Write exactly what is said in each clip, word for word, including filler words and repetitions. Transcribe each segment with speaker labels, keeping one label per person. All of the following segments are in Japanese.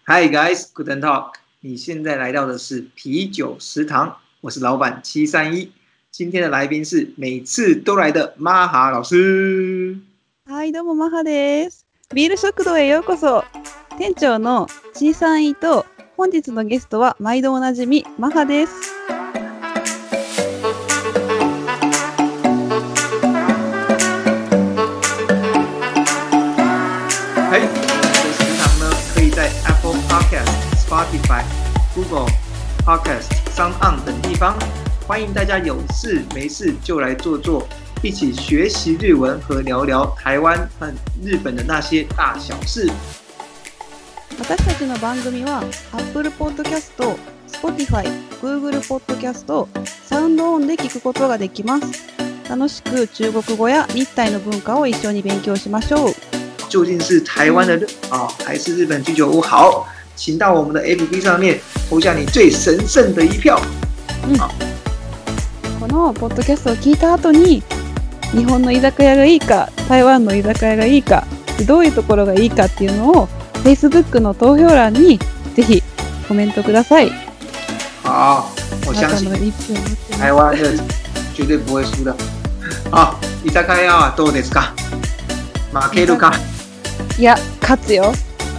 Speaker 1: Hi guys, Guten Tag。你現在來到的是啤酒食堂，我是老闆七三一。今天的來賓是每次都來的マハ老師。
Speaker 2: はい、どうもマハです。ビール食堂へようこそ。店長の七三一と本日のゲストは毎度おなじみマハです。
Speaker 1: はい。在 Apple Podcast、Spotify、Google Podcast、SoundOn 等地方，歡迎大家有事沒事就來坐坐，一起學習日文和聊聊台灣和日本的那些大小事。
Speaker 2: 私たちの番組は Apple Podcast、Spotify、Google Podcast、SoundOn で聞くことができます。楽しく中國語や日台の文化を一緒に勉強しましょう。
Speaker 1: 究竟是台灣的熱炒、嗯、還是日本居酒屋好？請到我們的 F B 上面投下你最神聖的一票。
Speaker 2: うん、このポッドキャストを聞いた後に日本の居酒屋がいいか台灣の居酒屋がいいかどういうところがいいかっていうのを Facebook の投票欄にぜひコメントください。
Speaker 1: 好，我相信台灣熱炒絕對不會輸的。好，居酒屋はどうですか？負けるか？
Speaker 2: いや、勝つよ。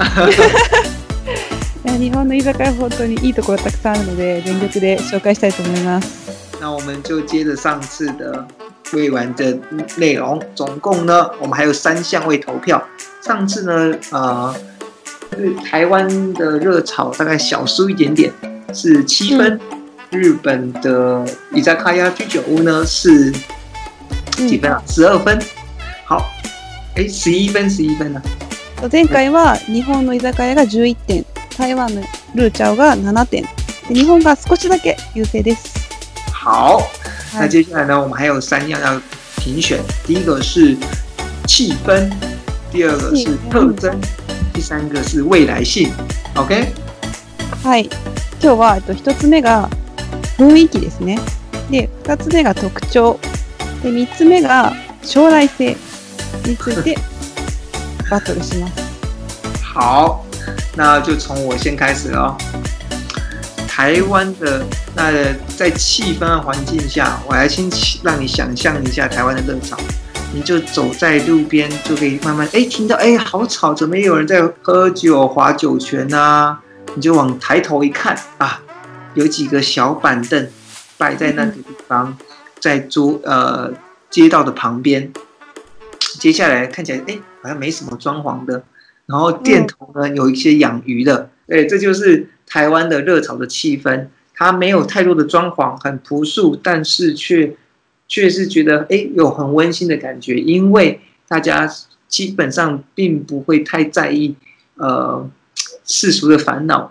Speaker 2: いや、日本の居酒屋本当にいいところたくさんあるので全力で紹介したいと思います。
Speaker 1: 那我們就接着上次的未完的內容，總共呢，我們還有三項位投票。上次呢，呃，台灣的熱炒大概小輸一點點，是七分。嗯、日本的居酒屋居酒屋呢是幾分啊？十二分。好。え、十一分、十一分呢？
Speaker 2: 前回は日本の居酒屋がじゅういってん、台湾のルーチャオがななてん、日本が少しだけ優勢です。
Speaker 1: 好，那接下來呢，我們還有三樣要評選。第一個是氣氛，第二個是特徵，第三個是未來性。OK？
Speaker 2: はい。今日は一つ目が雰囲気ですね。で、二つ目が特徴。で、三つ目が将来性。についてバトルします。
Speaker 1: 好，那就從我先開始了。台灣的那在氣氛的環境下，我來先讓你想象一下台灣的熱炒。你就走在路邊，就可以慢慢哎聽到哎好吵，怎麼有人在喝酒划酒拳啊？你就往抬頭一看啊，有幾個小板凳擺在那個地方，在桌呃街道的旁邊。接下來看起來，哎，好像沒什麼裝潢的。然後店頭呢，有一些養魚的。對，這就是台灣的熱炒的氣氛。它沒有太多的裝潢，很樸素，但是卻卻是覺得，哎，有很溫馨的感覺。因為大家基本上並不會太在意，呃，世俗的煩惱。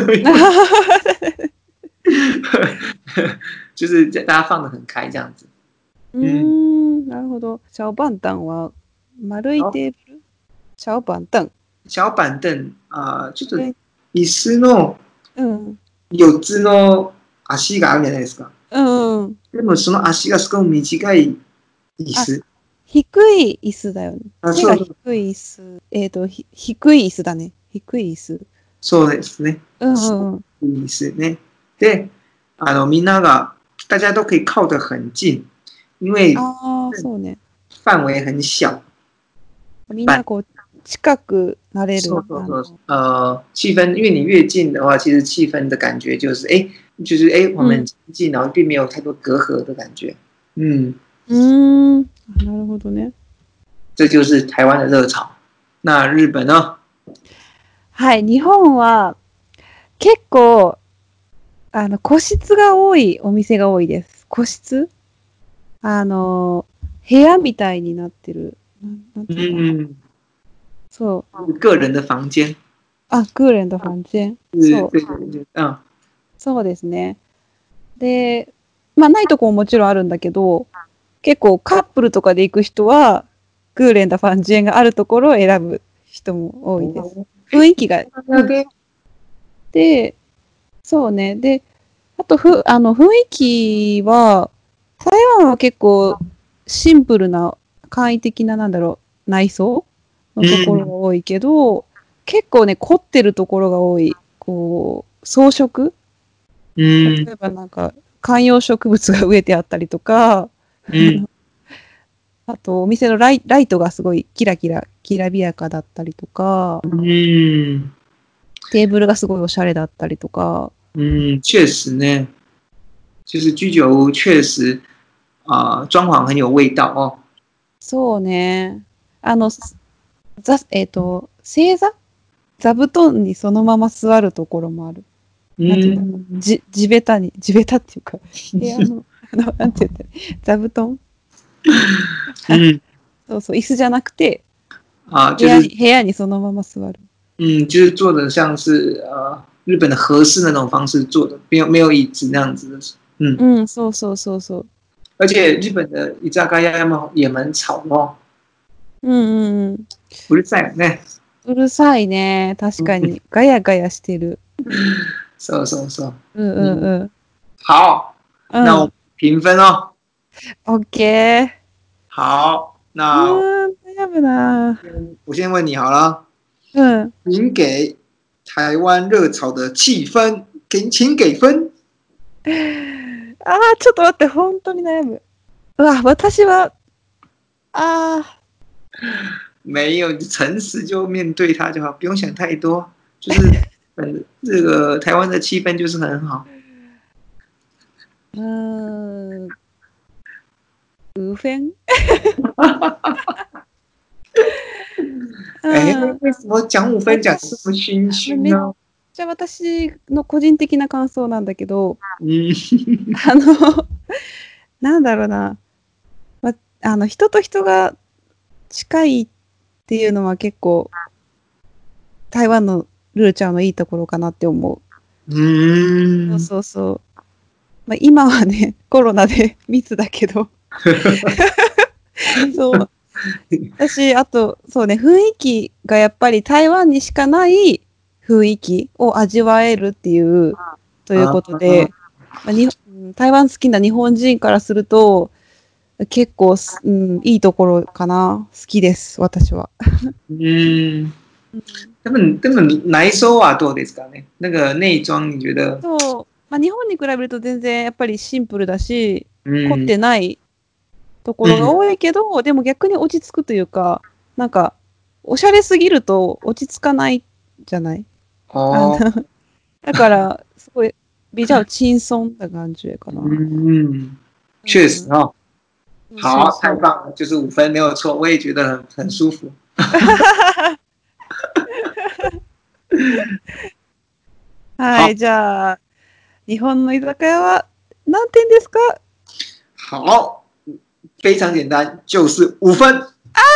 Speaker 1: 就是大家放得很開這樣子。
Speaker 2: うーん、なるほど。小板凳は丸いテーブル。小板凳。
Speaker 1: 小板凳あ、ちょっと椅子の
Speaker 2: よ
Speaker 1: っつの足があるじゃないですか。
Speaker 2: うん。
Speaker 1: でもその足がすごい短い椅子。
Speaker 2: 低い椅子だよね。背が低い椅子。えっと低い椅子だね。低い椅子。
Speaker 1: そうですね。
Speaker 2: うんうん。
Speaker 1: 低い椅子ね。で、あのみんなが大家都可以靠得很近。因為範圍很小，
Speaker 2: みんなこう近くなれる。
Speaker 1: そうそうそう。呃，氣氛，因為你越近的話，其實氣氛的感覺就是，哎，就是哎，我們近，然後並沒有太多隔閡的感覺。嗯。
Speaker 2: 嗯，なるほどね。
Speaker 1: 這就是台灣的熱炒。那日本呢？
Speaker 2: はい、日本は結構あの個室が多いお店が多いです。個室？あの部屋みたいになってる。なんていうの？そう。
Speaker 1: 個人的房間。
Speaker 2: あ、個人的房間。そう。
Speaker 1: うん。
Speaker 2: そうですね。で、まあないとこももちろんあるんだけど、結構カップルとかで行く人はクーレンダファンジェンがあるところを選ぶ人も多いです。雰囲気が。で、そうね。で、あとふあの雰囲気は台湾は結構シンプルな簡易的ななんだろう内装のところが多いけど、 結構ね、凝ってるところが多い。こう、装飾
Speaker 1: うん。
Speaker 2: 例えばなんか、観葉植物が植えてあったりとか、
Speaker 1: うん。
Speaker 2: あと、お店のライ、ライトがすごいキラキラ、きらびやかだったりとか、
Speaker 1: 嗯
Speaker 2: テーブルがすごいおしゃれだったりとか。
Speaker 1: 嗯，確實呢，就是居酒屋確實啊、呃，裝潢很有味道哦。
Speaker 2: そうね。あの、ざ、えっと、正座座布団にそのまま座るところもある。なんていうんだろう。じ、地べたに、地べたっていうか、部屋の、あの、なんていうんだろう。座布団
Speaker 1: 嗯
Speaker 2: そうそう、椅子じゃなくて、
Speaker 1: 啊，就是
Speaker 2: 部屋に、部屋にそのまま座る。
Speaker 1: 嗯，就是做的像是呃日本的和式那種方式做的，沒有沒有椅子那樣子的。嗯，
Speaker 2: うん、そうそうそうそう。
Speaker 1: 而且日本的居酒屋也蠻也蠻吵的哦。
Speaker 2: うんうんうん。
Speaker 1: うるさいよね。
Speaker 2: うるさいね。確かに。ガヤガヤしてる。
Speaker 1: そうそうそう。
Speaker 2: うんうんうん。
Speaker 1: 好，
Speaker 2: うん。
Speaker 1: 那我評分哦。
Speaker 2: オッケー。
Speaker 1: 好，
Speaker 2: う
Speaker 1: 那
Speaker 2: ーん、悩むな。
Speaker 1: 我先問你好了，
Speaker 2: うん。
Speaker 1: 您給台灣熱炒的氣氛，給請給分。
Speaker 2: ああ、ちょっと待って、本当に悩む。うわ、私は、ああ。
Speaker 1: 沒有，誠實就面對它就好，不用想太多。就是嗯，這個台灣的氣氛就是很好。
Speaker 2: うーん。五分
Speaker 1: 哎，為什麼講五分講這麼熏熏呢？
Speaker 2: じゃあ私の個人的な感想なんだけど、
Speaker 1: 嗯，
Speaker 2: あの、なんだろうな、ま、あの、人と人が近いっていうのは結構、台湾のルーちゃんのいいところかなって思う。
Speaker 1: 嗯，
Speaker 2: そうそうそう。まあ、今はね、コロナで密だけど。そう。私、あと、そうね、雰囲気がやっぱり台湾にしかない雰囲気を味わえるっていう、ということで、まあ、に台湾好きな日本人からすると、結構、うん、いいところかな。好きです、私は。
Speaker 1: 嗯，でも、でも内装はどうですかね？那個內裝你覺得？
Speaker 2: そう。まあ、日本に比べると全然やっぱりシンプルだし、
Speaker 1: 凝
Speaker 2: ってないところが多いけど、うん、でも逆に落ち着くというか、なんか、おしゃれすぎると落ち着かないじゃない？あのだから、すごい、比較輕鬆的感覺かな。
Speaker 1: 嗯，確實哦。
Speaker 2: 嗯、
Speaker 1: 好，太棒了，就是五分沒有錯，我也覺得很很舒服。
Speaker 2: はい、じゃあ、日本の居酒屋は何点ですか？
Speaker 1: 好，非常簡單，就是五分。
Speaker 2: あー、や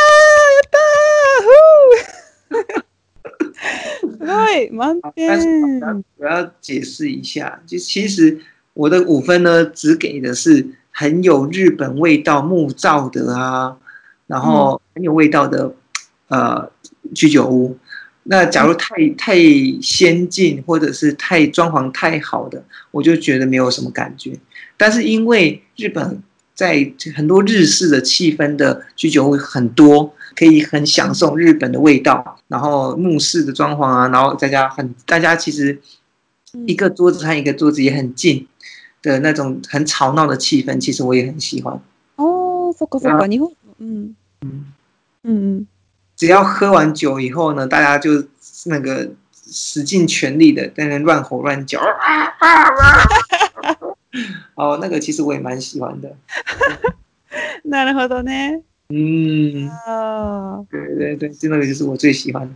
Speaker 2: ったーすごい滿點。
Speaker 1: 我要解釋一下，就其實我的五分呢，只給的是很有日本味道木造的啊，然後很有味道的呃居酒屋。那假如太太先進或者是太裝潢太好的，我就覺得沒有什麼感覺。但是因為日本在很多日式的氣氛的居酒屋很多，可以很享受日本的味道，然後木式的裝潢啊，然後大家很大家其實一個桌子和一個桌子也很近的那種很吵鬧的氣氛，其實我也很喜歡。
Speaker 2: 哦，そっかそっか、日本、嗯嗯嗯。
Speaker 1: 只要喝完酒以後呢，大家就那個使盡全力的在那亂吼亂叫，哦，那個其實我也蠻喜歡的。
Speaker 2: なるほどね。
Speaker 1: 嗯，
Speaker 2: 啊，
Speaker 1: 對對對，這個就是我最喜歡的。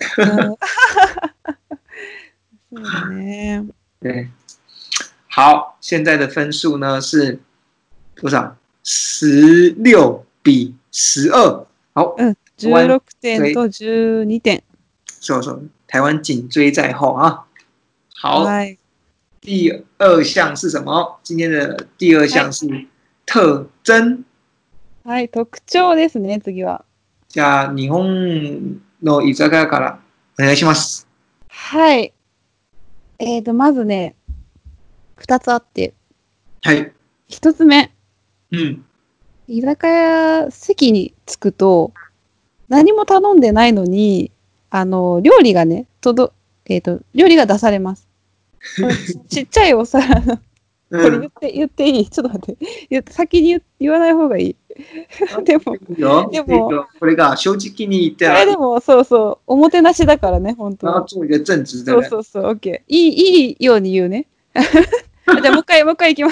Speaker 2: そうだね。
Speaker 1: 對，好，現在的分數呢是多少？十六比十二。好。
Speaker 2: 嗯。じゅうろくてんとじゅうにてん。
Speaker 1: そうそう，台灣緊追在後啊。好，
Speaker 2: はい、
Speaker 1: 第二項是什麼？今天的第二項是特徵。
Speaker 2: はい、特徴ですね、次は。
Speaker 1: じゃあ、日本の居酒屋からお願いします。
Speaker 2: はい。えーと、まずね、二つあって。
Speaker 1: はい。
Speaker 2: 一つ目。
Speaker 1: うん。
Speaker 2: 居酒屋、席に着くと、何も頼んでないのに、 あの、料理がね、とど、えっと、料理が出されます。これちちっちゃいお皿の、これ言って、言っていい？ちょっと待って。言って先に言言わない方がいい。でも、でも、
Speaker 1: これが正直に言ったら、
Speaker 2: これでも、そうそう、おもてなしだからね、本当
Speaker 1: 然後
Speaker 2: は。
Speaker 1: 做一個正直的
Speaker 2: そう
Speaker 1: 人。
Speaker 2: そうそう、OK。いい、いいように言うね。じゃあ、もう一回、もう一回いきます。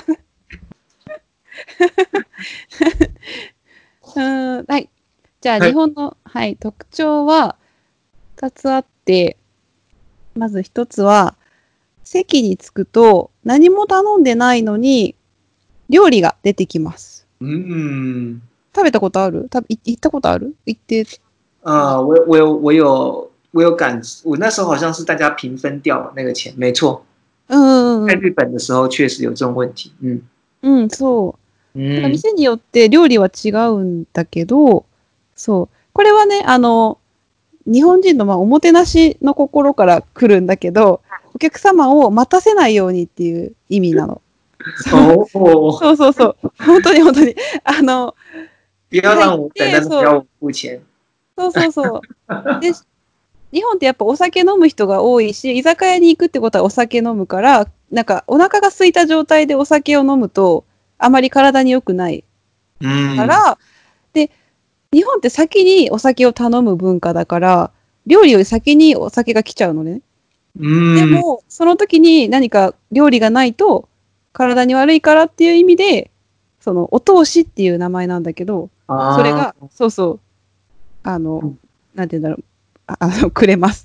Speaker 2: うーん、はい。じゃあ、
Speaker 1: はい
Speaker 2: 日本の、はい、特徴はふたつあって、まずひとつは、席に着くと何も頼んでないのに料理が出てきます。
Speaker 1: 嗯，
Speaker 2: 食べたことある？たい行ったことある？行って。
Speaker 1: 呃，我我有我有我有感，我那时候好像是大家平分掉那個錢，沒錯。
Speaker 2: うんうんうん。
Speaker 1: 在日本的時候確實有這種問題。嗯
Speaker 2: うん、そう。だから
Speaker 1: 嗯
Speaker 2: 店によって料理は違うんだけど、そう。これはね、あの、日本人のまあおもてなしの心から来るんだけど、お客様を待たせないようにっていう意味なの。そう
Speaker 1: 哦，
Speaker 2: そうそうそう。本当に本当に。あの、
Speaker 1: 不要
Speaker 2: 入っ
Speaker 1: 讓我等，
Speaker 2: て、
Speaker 1: 但是不
Speaker 2: そう、
Speaker 1: 要我付錢。
Speaker 2: そうそうそう。で、日本ってやっぱお酒飲む人が多いし、居酒屋に行くってことはお酒飲むから、なんかお腹が空いた状態でお酒を飲むと、あまり体に良くないか
Speaker 1: 嗯
Speaker 2: ら、で、日本って先にお酒を頼む文化だから、料理より先にお酒が来ちゃうのね。で
Speaker 1: 嗯
Speaker 2: も、その時に何か料理がないと、体に悪いからっていう意味で、その、お通しっていう名前なんだけど、それ
Speaker 1: 啊
Speaker 2: が、そうそう、あの、なんて言うんだろう、ああの、くれます。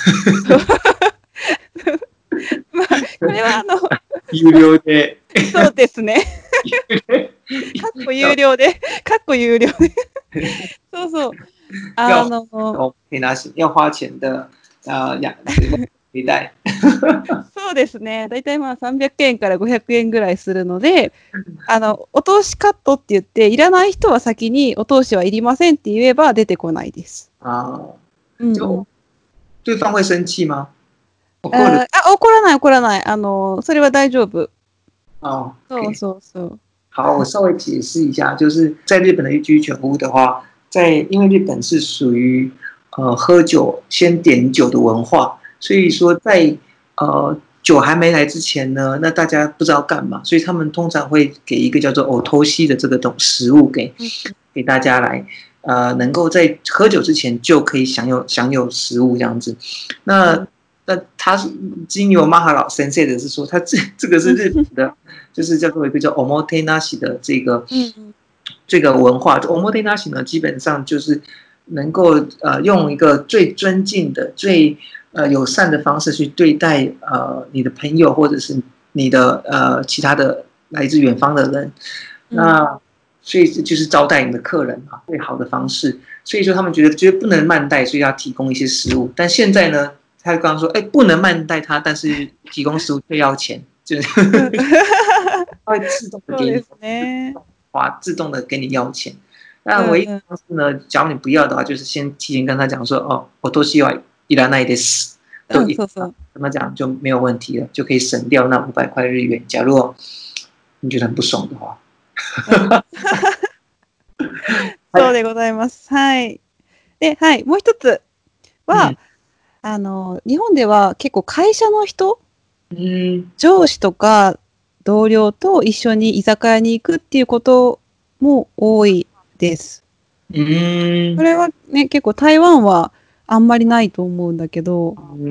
Speaker 2: まあ、これはあの、
Speaker 1: 有料で。
Speaker 2: そうですね。かっこ有料で、かっこ有料で。そうそう。あの、
Speaker 1: 哦，可以拿要花錢的啊呀，履帶。
Speaker 2: そうですね。だいたいまあさんびゃくえんからごひゃくえんぐらいするので、あの、お通しカットって言って、いらない人は先にお通しはいりませんって言えば出てこないです。
Speaker 1: 啊，
Speaker 2: うんうん、
Speaker 1: 就對方會生氣嗎？怒る？
Speaker 2: あ、怒らない怒らない。あの、それは大丈夫。
Speaker 1: 哦，
Speaker 2: そうそうそう。
Speaker 1: 好，我稍微解釋一下，就是在日本的居酒屋的話，在因為日本是屬於呃喝酒先點酒的文化，所以說在呃酒還沒來之前呢，那大家不知道幹嘛，所以他們通常會給一個叫做お通し的這個東食物給給大家來，呃，能夠在喝酒之前就可以享有享有食物這樣子。那那他是經由馬哈老先生的是說，他這這個是日本的，就是叫做一個叫おもてなし的這個這個文化。おもてなし呢，基本上就是能夠呃用一個最尊敬的、最呃友善的方式去對待呃你的朋友或者是你的呃其他的來自遠方的人。那所以這就是招待你的客人嘛，最好的方式。所以說他們覺得覺得不能慢待，所以要提供一些食物。但現在呢，他剛剛說，哎，不能慢待他，但是提供食物卻要錢，就是他會自動的給你，哇，自動的給你要錢。那唯一的方式呢，假如你不要的話，就是先提前跟他講說，哦，我都希望いらないです，都跟他講就沒有問題了，就可以省掉那五百塊日元。假如你覺得很不爽的話。
Speaker 2: そうでございます。はい。で、はい、もう一つは、うん、あの、日本では結構会社の人、うん、上司とか同僚と一緒に居酒屋に行くっていうことも多いです。うん、これはね、結構台湾はあんまりないと思うんだけど、うん、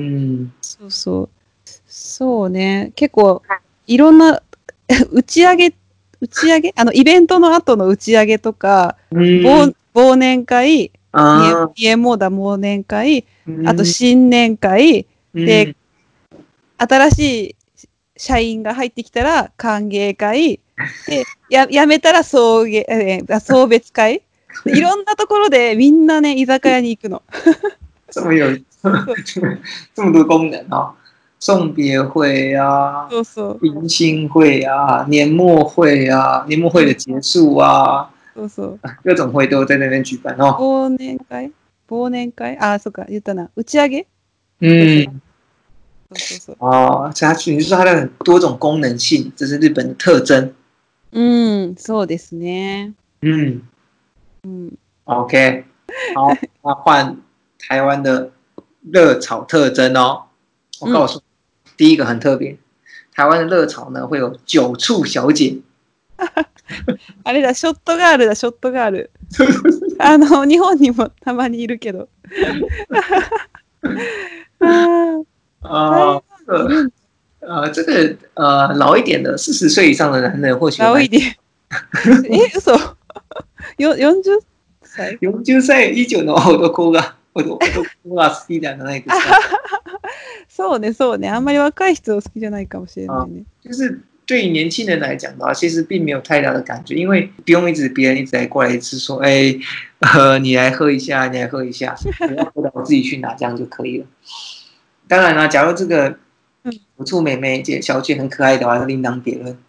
Speaker 2: そうそう。そうね、結構いろんな打ち上げ打ち上げあの、イベントの後の打ち上げとか、忘, 忘年会、家もだ忘年会、あと新年会、で、新しい社員が入ってきたら歓迎会、で、や、辞めたら送迎、えー、送別会。いろんなところでみんなね、居酒屋に行くの。
Speaker 1: 这麼有、這麼多功能哦。送別會啊，迎新會啊，年末會啊，年末會的結束啊，
Speaker 2: そうそう
Speaker 1: 各種會都在那邊舉辦哦。
Speaker 2: 忘年會忘年會啊，そうか、言ったな。打ち上げ
Speaker 1: 嗯，そうそうそう。哦，它你是說它的很多種功能性，這是日本的特徵。
Speaker 2: 嗯，そうですね。
Speaker 1: 嗯嗯 ，OK，好，那換台灣的熱炒特徵哦。我告訴你，嗯、第一個很特別，台灣的熱炒呢會有酒促小姐。
Speaker 2: あれだ、ショットガールだ、ショットガール。あの、日本にもたまにいるけど。
Speaker 1: 啊啊呃，这个呃老一点的四十岁以上的男人或許
Speaker 2: 老一點。え、嘘。よ四十歳？
Speaker 1: 四十歳以上の男が男が好きじゃないですか。
Speaker 2: そうね、そうね。あんまり若い人好きじゃないかもしれないね。
Speaker 1: 就是对于年輕人來講的話，其實並沒有太大的感覺，因為不用一直別人一直來過來一直說，哎，呃，你來喝一下，你來喝一下，我要喝到我自己去拿，這樣就可以了。當然啦，假如這個酒促妹妹姐小姐很可愛的話，另當別論。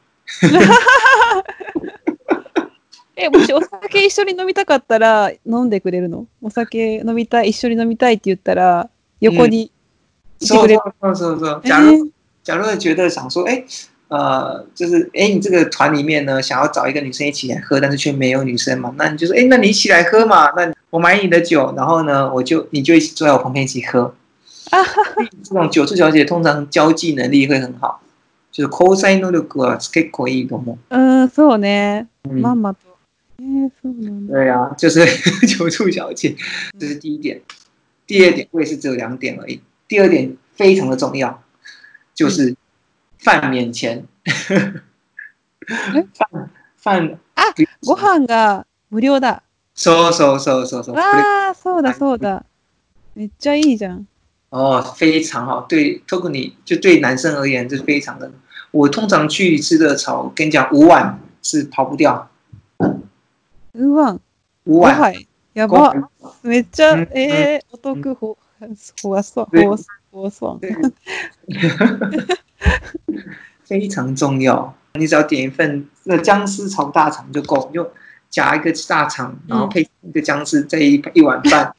Speaker 2: え、もしお酒一緒に飲みたかったら飲んでくれるの？お酒飲みたい、一緒に飲みたいって言ったら横にいてくれる？
Speaker 1: そうそうそうそう。假如假如覺得想說，哎，呃，就是哎，你這個團裡面呢，想要找一個女生一起來喝，但是卻沒有女生嘛，那你就說，哎，那你一起來喝嘛，那我買你的酒，然後呢，我就你就一起坐在我旁邊一起喝。啊，這種酒促小姐通常交際能力會很好，就是交際能力は結構いいと思う。
Speaker 2: 嗯，そうね。まんまと。え、そうなんだ。
Speaker 1: 對啊，就是酒促小姐，這是第一點。第二點，我也是只有兩點而已。第二點非常的重要，就是飯免錢。飯飯
Speaker 2: あ、ご飯が無料だ。
Speaker 1: そうそうそうそうそう。
Speaker 2: ああ、そうだそうだ。めっちゃいいじゃん。
Speaker 1: 哦，非常好，對，特に就對男生而言，這非常的。我通常去吃熱炒，跟你講，五碗是跑不掉。
Speaker 2: 五碗。
Speaker 1: 五碗。
Speaker 2: やば。めっちゃ、えー、お得ほ、ほわそう、ほわほわそう。
Speaker 1: 非常重要。你只要點一份那薑絲炒大腸就夠，你就夾一個大腸，然後配一個薑絲，再一一碗飯。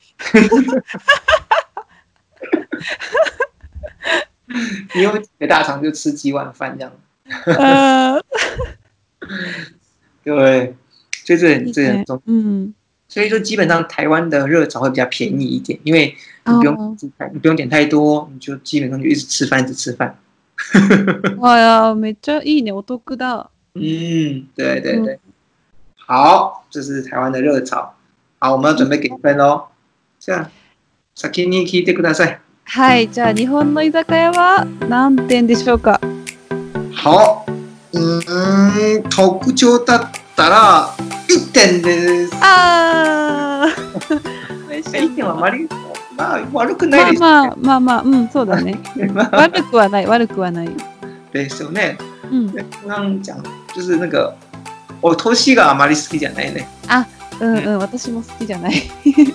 Speaker 1: 你有幾個大腸就吃幾碗飯這樣。呃，對，所以這很這很重要。嗯，所以說基本上台灣的熱炒會比較便宜一點，因為你不用、哦、你不用點太多，你就基本上就一直吃飯，一直吃飯。
Speaker 2: 哇呀，めっちゃいいね，お得だ。
Speaker 1: 嗯，對對對。好，這是台灣的熱炒。好，我們要準備給分嘍。じゃあ先に聞いてください。
Speaker 2: はい、じゃあ日本の居酒屋は何点でしょうか。
Speaker 1: 好、うーん、特徴だったらいってんです。
Speaker 2: ああ。
Speaker 1: いってんはあまり、まあ、悪くないですね。
Speaker 2: まあまあまあ、うん、そうだね。悪くはない、悪くはない。
Speaker 1: ですよね。うん。剛剛講、就是那個、お年があまり好きじゃないね。
Speaker 2: あ、うんうん、私も好きじゃない。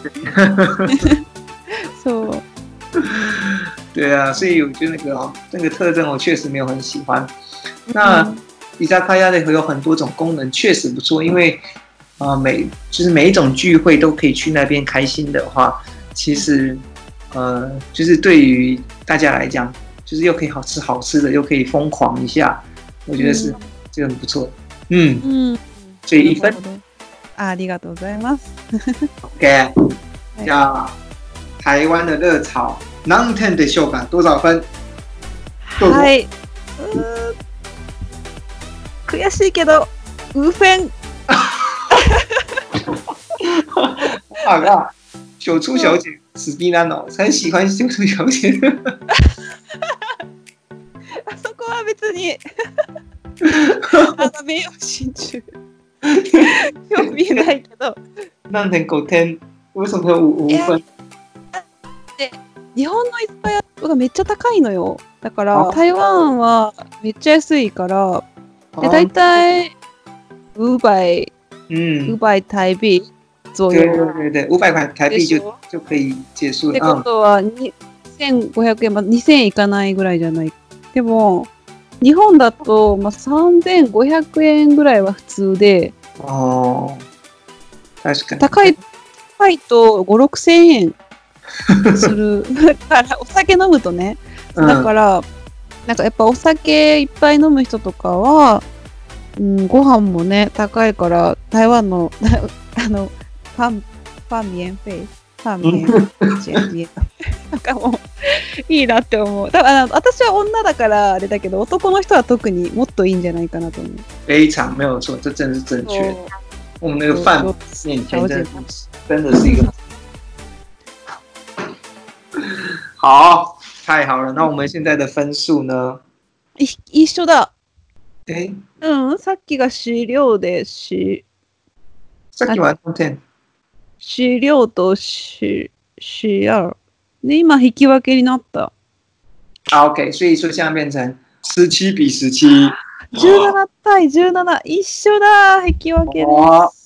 Speaker 2: そう。
Speaker 1: 對啊，所以我覺得那個那個特徵我確實沒有很喜歡。那居酒屋的有很多種功能，確實不錯。因為啊、呃，每就是每一種聚會都可以去那邊開心的話，其實呃，就是對於大家來講，就是又可以好吃好吃的，又可以瘋狂一下，我覺得是這個很不錯。嗯嗯，所以一分。
Speaker 2: ありがとうございます。
Speaker 1: OK，じゃあ台灣的熱炒何點でしょうか？多少分？
Speaker 2: はい。悔しいけど五分。
Speaker 1: 好啦，酒促小姐死逼男哦，很喜歡酒促小姐。
Speaker 2: あそこは別にあの名誉心中興味ないけど。
Speaker 1: 何点五点？為什麼五五分？
Speaker 2: で日本の居酒屋がめっちゃ高いのよ。だから台灣はめっちゃ安いから、で大体五百、五百台幣左右。
Speaker 1: 對對對，五百塊台幣就就可以結束了。
Speaker 2: ってことはにせんごひゃくえん、まあ、にせんえんいかないぐらいじゃない。でも日本だと、まあ、さんぜんごひゃくえんぐらいは普通で。
Speaker 1: ああ、確かに。
Speaker 2: 高い高いとご、ろくせんえんするからお酒飲むとね。だから、うん、なんかやっぱお酒いっぱい飲む人とかは、うん、ご飯もね高いから台湾のあのファンファンミエンフェイファミリー。なんかもう、いいなって思う。多分あの私は女だからあれだけど、男の人は特にもっといいんじゃないかなと思う。
Speaker 1: 非常没有錯，這真的是正確。我們那個飯面前真的真的是一個。好，太好了。那我們現在的分數呢？
Speaker 2: い一緒だ。
Speaker 1: え？
Speaker 2: うん、さっきが資料でし。
Speaker 1: さっきは何点？
Speaker 2: 資料とし、し二。で、今引き分けになった。
Speaker 1: 啊 ，OK， 所以說現在變成十七比十七。
Speaker 2: じゅうなな対じゅうなな、一緒だ、引き分けです。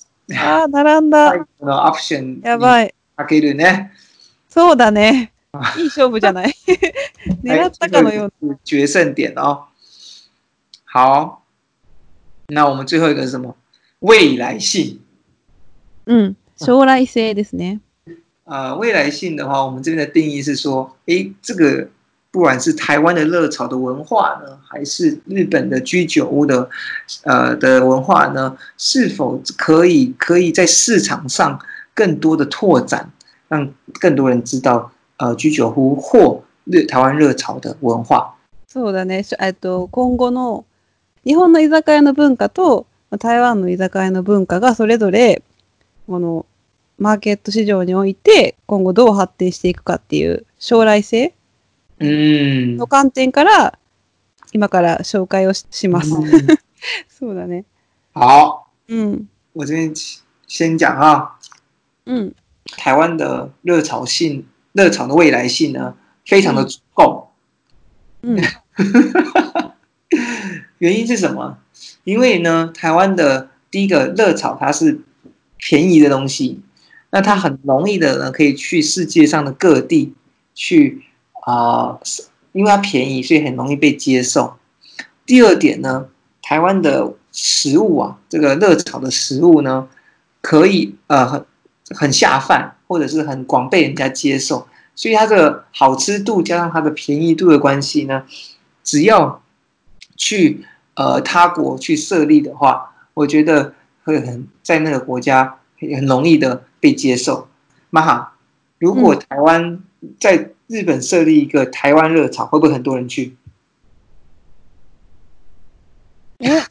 Speaker 2: ああ、並んだ。
Speaker 1: 最後のオプション
Speaker 2: やばい。
Speaker 1: かけるね。
Speaker 2: そうだね。いい勝負じゃない。狙ったかのような。
Speaker 1: 決勝點哦。好，那我們最後一個是什麼？未來性。
Speaker 2: うん、將來性ですね。
Speaker 1: 呃，未來性的話，我們這邊的定義是說，誒，這個不管是台灣的熱炒的文化呢，還是日本的居酒屋的，呃的文化呢，是否可以可以在市場上更多的拓展，讓更多人知道，呃，居酒屋或日台灣熱炒的文化。
Speaker 2: そうだね。えっと今後の日本の居酒屋の文化と台湾の居酒屋の文化がそれぞれこのマーケット市場において今後どう発展していくかっていう将来性の観点から今から紹介を し, します。そうだね。
Speaker 1: 好，
Speaker 2: 嗯，
Speaker 1: 我這邊先講啊，
Speaker 2: 嗯，
Speaker 1: 台灣的熱炒性、熱炒的未來性呢，非常的足夠。
Speaker 2: 嗯，
Speaker 1: 原因是什麼？因為呢，台灣的第一個熱炒它是便宜的東西，那它很容易的呢，可以去世界上的各地去啊、呃，因為它便宜，所以很容易被接受。第二點呢，台灣的食物啊，這個熱炒的食物呢，可以呃很很下飯，或者是很廣被人家接受，所以它的好吃度加上它的便宜度的關係呢，只要去呃他國去設立的話，我覺得會很在那個國家很容易的被接受。媽哈，如果台灣在日本設立一個台灣熱炒，會不會很多人去？
Speaker 2: え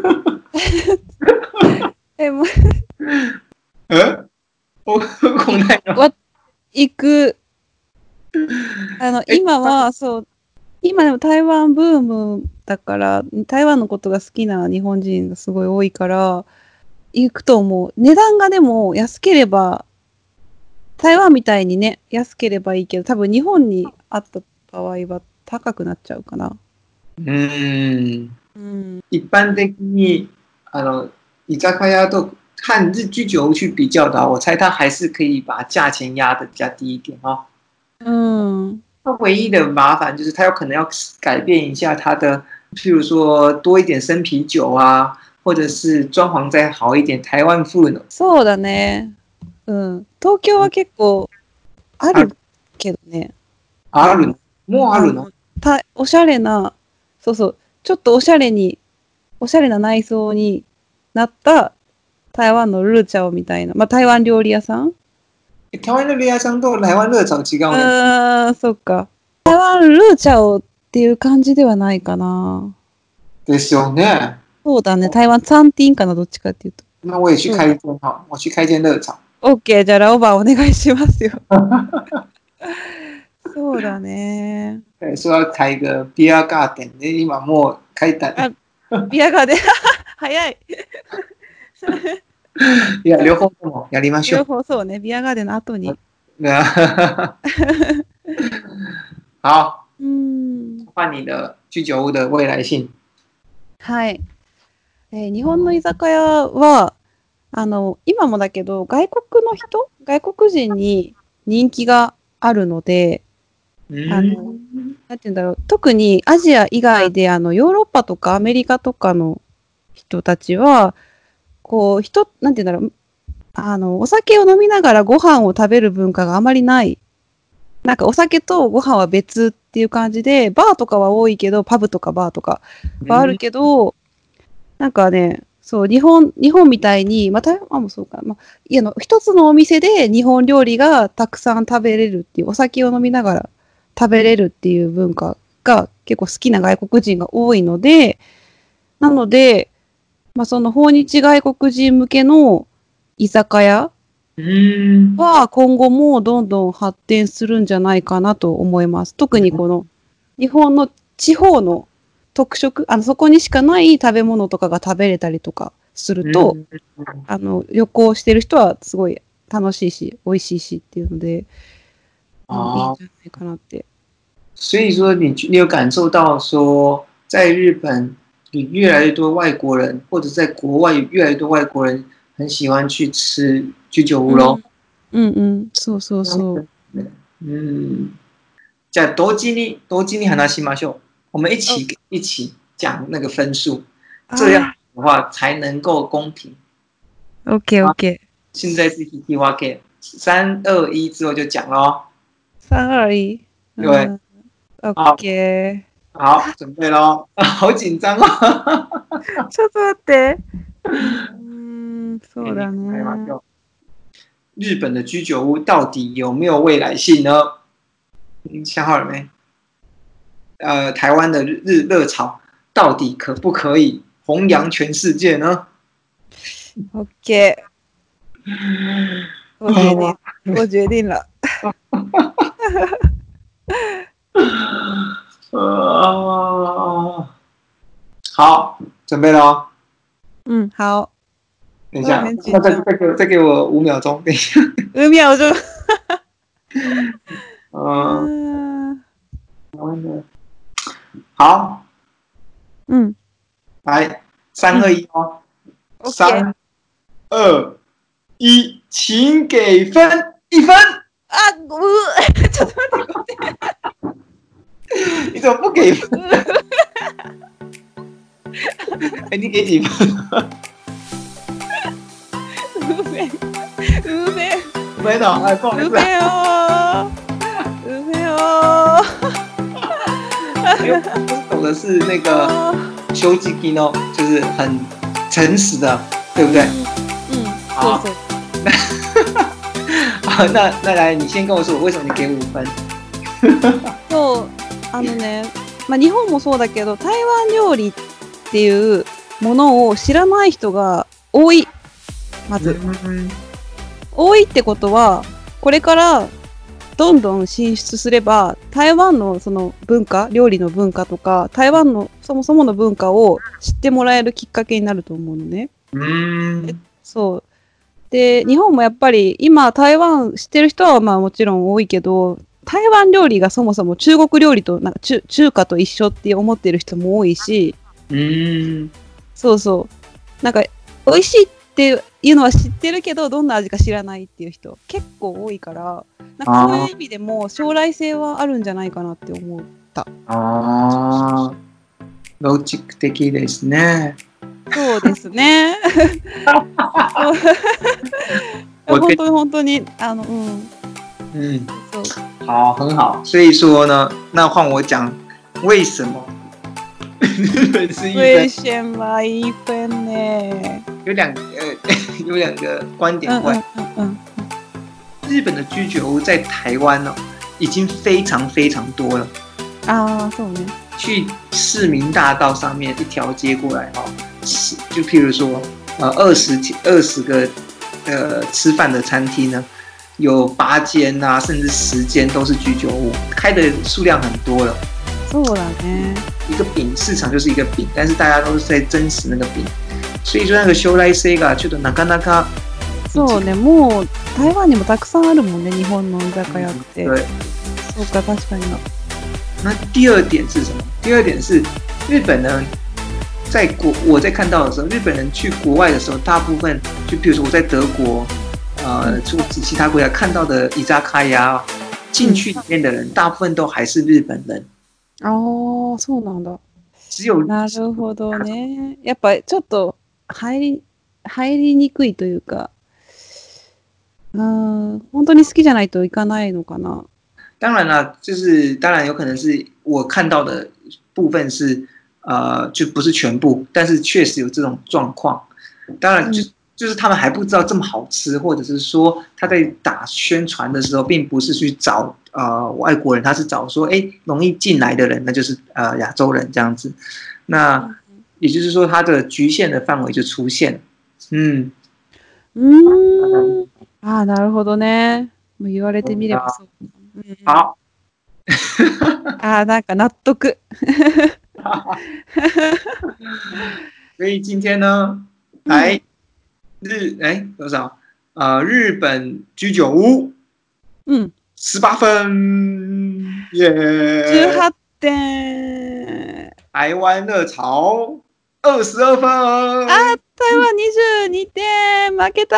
Speaker 2: えもう
Speaker 1: えお来ないの？
Speaker 2: わ行く。あの今はそう今でも台湾ブームだから台湾のことが好きな日本人がすごい多いから行くと思う。値段がでも安ければ台湾みたいにね安ければいいけど多分日本にあった場合は高くなっちゃうかな。
Speaker 1: うーん。
Speaker 2: うん、
Speaker 1: 一般的にあの居酒屋と和日居酒屋去比較的話，我猜它還是可以把價錢壓得比較低一點哦。
Speaker 2: 嗯，
Speaker 1: 它唯一的麻煩就是它有可能要改變一下它的，譬如說多一點生啤酒啊，或者是裝潢再好一點台灣風の。
Speaker 2: そうだね。うん。東京は結構あるけどね。
Speaker 1: あるの？もうあるの？
Speaker 2: たおしゃれな、そうそう。ちょっとおしゃれに、おしゃれな内装になった台湾のルーチャオみたいな、まあ台湾料理屋さん？
Speaker 1: 台湾料理屋さんと台湾熱炒違うね。
Speaker 2: ああ、そっか。台湾ルーチャオっていう感じではないかな。
Speaker 1: ですよね。
Speaker 2: そうだね。台湾餐廳かな、どっちかっていうと。
Speaker 1: 那我也去開一間好，我去開一間熱炒。
Speaker 2: OK、じゃあラオバお願いしますよ。そうだね。
Speaker 1: 對，說要開一個ビアガーデンで今もう開いた。
Speaker 2: ビアガーデン早い。
Speaker 1: いや両方ともやりましょう。
Speaker 2: 両方そうね。ビアガーデンの後に。
Speaker 1: 好。
Speaker 2: 嗯。
Speaker 1: 換你的居酒屋的未來性。
Speaker 2: はい。えー、日本の居酒屋はあの今もだけど外国の人、外国人に人気があるので。あのなんていうんだろう、特にアジア以外であのヨーロッパとかアメリカとかの人たちはこう人なんていうんだろう、あのお酒を飲みながらご飯を食べる文化があまりない。なんかお酒とご飯は別っていう感じでバーとかは多いけどパブとかバーとかはあるけど、なんかねそう、日本、日本みたいに、まあ、台湾もそうか、まあ、いやの、一つのお店で日本料理がたくさん食べれるっていう、お酒を飲みながら食べれるっていう文化が結構好きな外国人が多いので、なので、まあ、その訪日外国人向けの居酒屋は今後もどんどん発展するんじゃないかなと思います。特にこの日本の地方の特色、あの、そこにしかない食べ物とかが食べれたりとかすると、あの、旅行してる人はすごい楽しいし、美味しいしっていうので、
Speaker 1: 哦、
Speaker 2: いいんじゃないかなって。
Speaker 1: 所以说你，你有感受到说，在日本有越来越多外國人，或者在國外有越來越多外國人很喜歡去吃居酒屋咯。
Speaker 2: うんうん、そうそうそう。
Speaker 1: 嗯，じゃあ同時に同時に話しましょう。我們一起、哦、一起講那個分數，這樣的話才能夠公平。
Speaker 2: OK OK。
Speaker 1: 現在是引き分け，三二一之後就講咯。
Speaker 2: 三二一。
Speaker 1: 對。
Speaker 2: OK。
Speaker 1: 好，準備咯。好緊張哦。
Speaker 2: ちょっと待って。嗯，そうだね。
Speaker 1: 日本的居酒屋到底有沒有未來性呢？你想好了沒？呃，台灣的日日熱炒到底可不可以弘揚全世界呢
Speaker 2: ？OK， 我決定，我決定了。
Speaker 1: 好，準備了。
Speaker 2: 嗯，好。
Speaker 1: 等一下，再再再給再給我五秒鐘，等一下。
Speaker 2: 五秒鐘。
Speaker 1: 嗯。好。
Speaker 2: 嗯。
Speaker 1: 來，三二一哦。三二一，請給分，一分。
Speaker 2: 啊，我，ちょっと待って待って。
Speaker 1: 你怎麼不給分？哎，你給幾分？
Speaker 2: 五分，五分，
Speaker 1: 五分哦，哎，不好意思。
Speaker 2: 五分哦，五分哦。
Speaker 1: 我懂的是那個修吉基諾，就是很誠實的，對不對？
Speaker 2: 嗯，
Speaker 1: 好。好，那那來，你先跟我說，為什麼你給五分？
Speaker 2: そう、あのね、まあ日本もそうだけど、台灣料理っていうものを知らない人が多い。まず、うん、多いってことはこれからどんどん進出すれば台湾のその文化、料理の文化とか台湾のそもそもの文化を知ってもらえるきっかけになると思うのね。
Speaker 1: うん、
Speaker 2: そうで、日本もやっぱり今台湾知ってる人はまあもちろん多いけど、台湾料理がそもそも中国料理となんか 中, 中華と一緒って思ってる人も多いし、
Speaker 1: うん、
Speaker 2: そうそうなんか美味しいっていうのは知ってるけどどんな味か知らないっていう人結構多いから、なんかそういう意味でも将来性はあるんじゃないかなって思った。
Speaker 1: ああ、ロジック的ですね。
Speaker 2: そうですね。本当に本当にあの嗯
Speaker 1: 嗯，好，很好。所以說呢，那換我講為什麼日本是一分？
Speaker 2: 為什麼一分呢？
Speaker 1: 有兩個呃有兩個觀點關。嗯嗯嗯。日本的居酒屋在台灣呢、哦，已經非常非常多了。
Speaker 2: 啊，そうね。
Speaker 1: 去市民大道上面一條街過來哈、哦，就譬如說呃二十二十個呃吃飯的餐廳呢。有八間啊，甚至十間都是居酒屋，開的數量很多了。
Speaker 2: そうだね。
Speaker 1: 一個餅市場就是一個餅，但是大家都是在爭食那個餅，所以說那個將來性がちょっとなかなか。
Speaker 2: そうね、もう台灣にもたくさんあるもんね、日本の居酒屋って。
Speaker 1: 對。
Speaker 2: そうか、確かに。
Speaker 1: 那第二點是什麼？第二點是日本呢，在國我在看到的時候，日本人去國外的時候，大部分就比如說我在德國。呃，出其他國家看到的居酒屋進去裡面的人，大部分都還是日本人。
Speaker 2: 哦、嗯，そうなんだ。
Speaker 1: 只有
Speaker 2: なるほどね。やっぱちょっと入り入りにくいというか、うん、本当に好きじゃないといかないのかな。
Speaker 1: 當然啦，就是當然有可能是我看到的部分是呃，就不是全部，但是確實有這種狀況。 當然就、嗯、就是他們還不知道這麼好吃，或者是說他在打宣傳的時候，並不是去找呃外國人，他是找說哎容易進來的人，那就是呃亞洲人這樣子。那也就是說，它的局限的範圍就出現了。嗯。
Speaker 2: うん。ああ、なるほどね。もう言われてみればそう。うん、
Speaker 1: 好。
Speaker 2: ああ、なんか納得。
Speaker 1: 所以今天呢，來日哎多少？呃，日本居酒屋，
Speaker 2: 嗯，
Speaker 1: 十八分，耶、yeah
Speaker 2: 十八点。
Speaker 1: 台灣熱炒二十二分。
Speaker 2: 啊，台灣二十二点，負けた。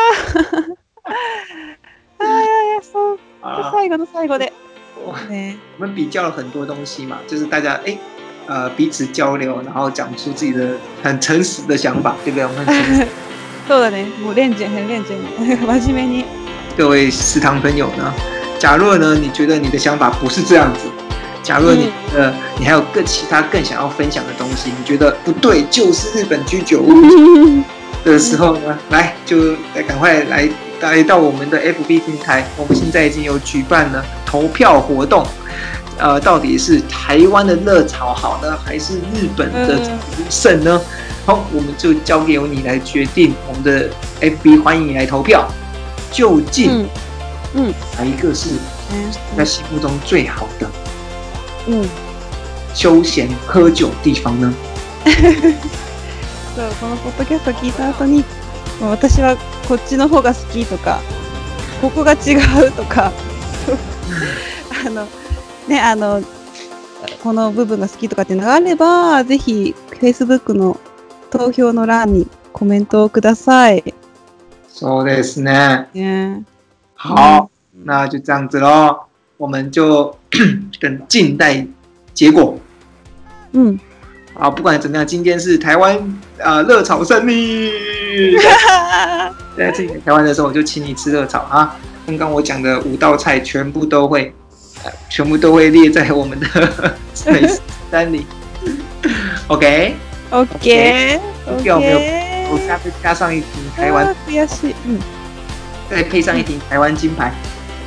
Speaker 2: 哎呀呀，そう。最後の最後で。
Speaker 1: ね、我們比較了很多東西嘛，就是大家哎。呃，彼此交流，然後講出自己的很誠實的想法，對不對？我們很誠實。
Speaker 2: そうだね，もう認真很認真，真面目に。
Speaker 1: 各位食堂朋友呢，假若呢你覺得你的想法不是這樣子，假若你呃、嗯、你還有更其他更想要分享的東西，你覺得不對，就是日本居酒屋的時候呢，來就來趕快來來到我們的 F B 平台，我們現在已經有舉辦了投票活動。呃，到底是台灣的熱炒好呢，還是日本的勝呢？好，我們就交給由你來決定。我們的 F B 歡迎你來投票，究竟，嗯，哪一個是在心目中最好的，嗯，休閒喝酒地方呢？
Speaker 2: そう、このポッドキャスト聞いた後に、私はこっちの方が好きとか、ここが違うとか、あの。ね、あのこの部分が好きとかっていうのがあれば、ぜひ Facebook の投票の欄にコメントをください。
Speaker 1: そうですね。
Speaker 2: ね
Speaker 1: 好、嗯，那就這樣子咯，我們就等靜待結果。嗯，好，不管怎麼樣，今天是台灣呃熱炒勝利。在這裡台灣的時候，我就請你吃熱炒啊。剛剛我講的五道菜全部都會。全部都會列在我們的美食單裡。OK
Speaker 2: OK OK。
Speaker 1: 有沒有？我下次加上一瓶台灣。
Speaker 2: 不要是嗯。
Speaker 1: 再配上一瓶台灣金牌。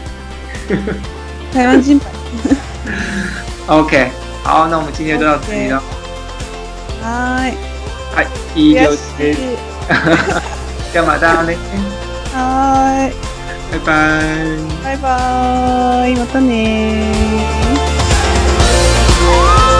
Speaker 2: 台灣金牌。
Speaker 1: OK， 好，那我們今天就到這裡了。
Speaker 2: はい。
Speaker 1: はい、以上です。じゃあまたね。
Speaker 2: はい。
Speaker 1: 拜拜。
Speaker 2: 拜拜，またね。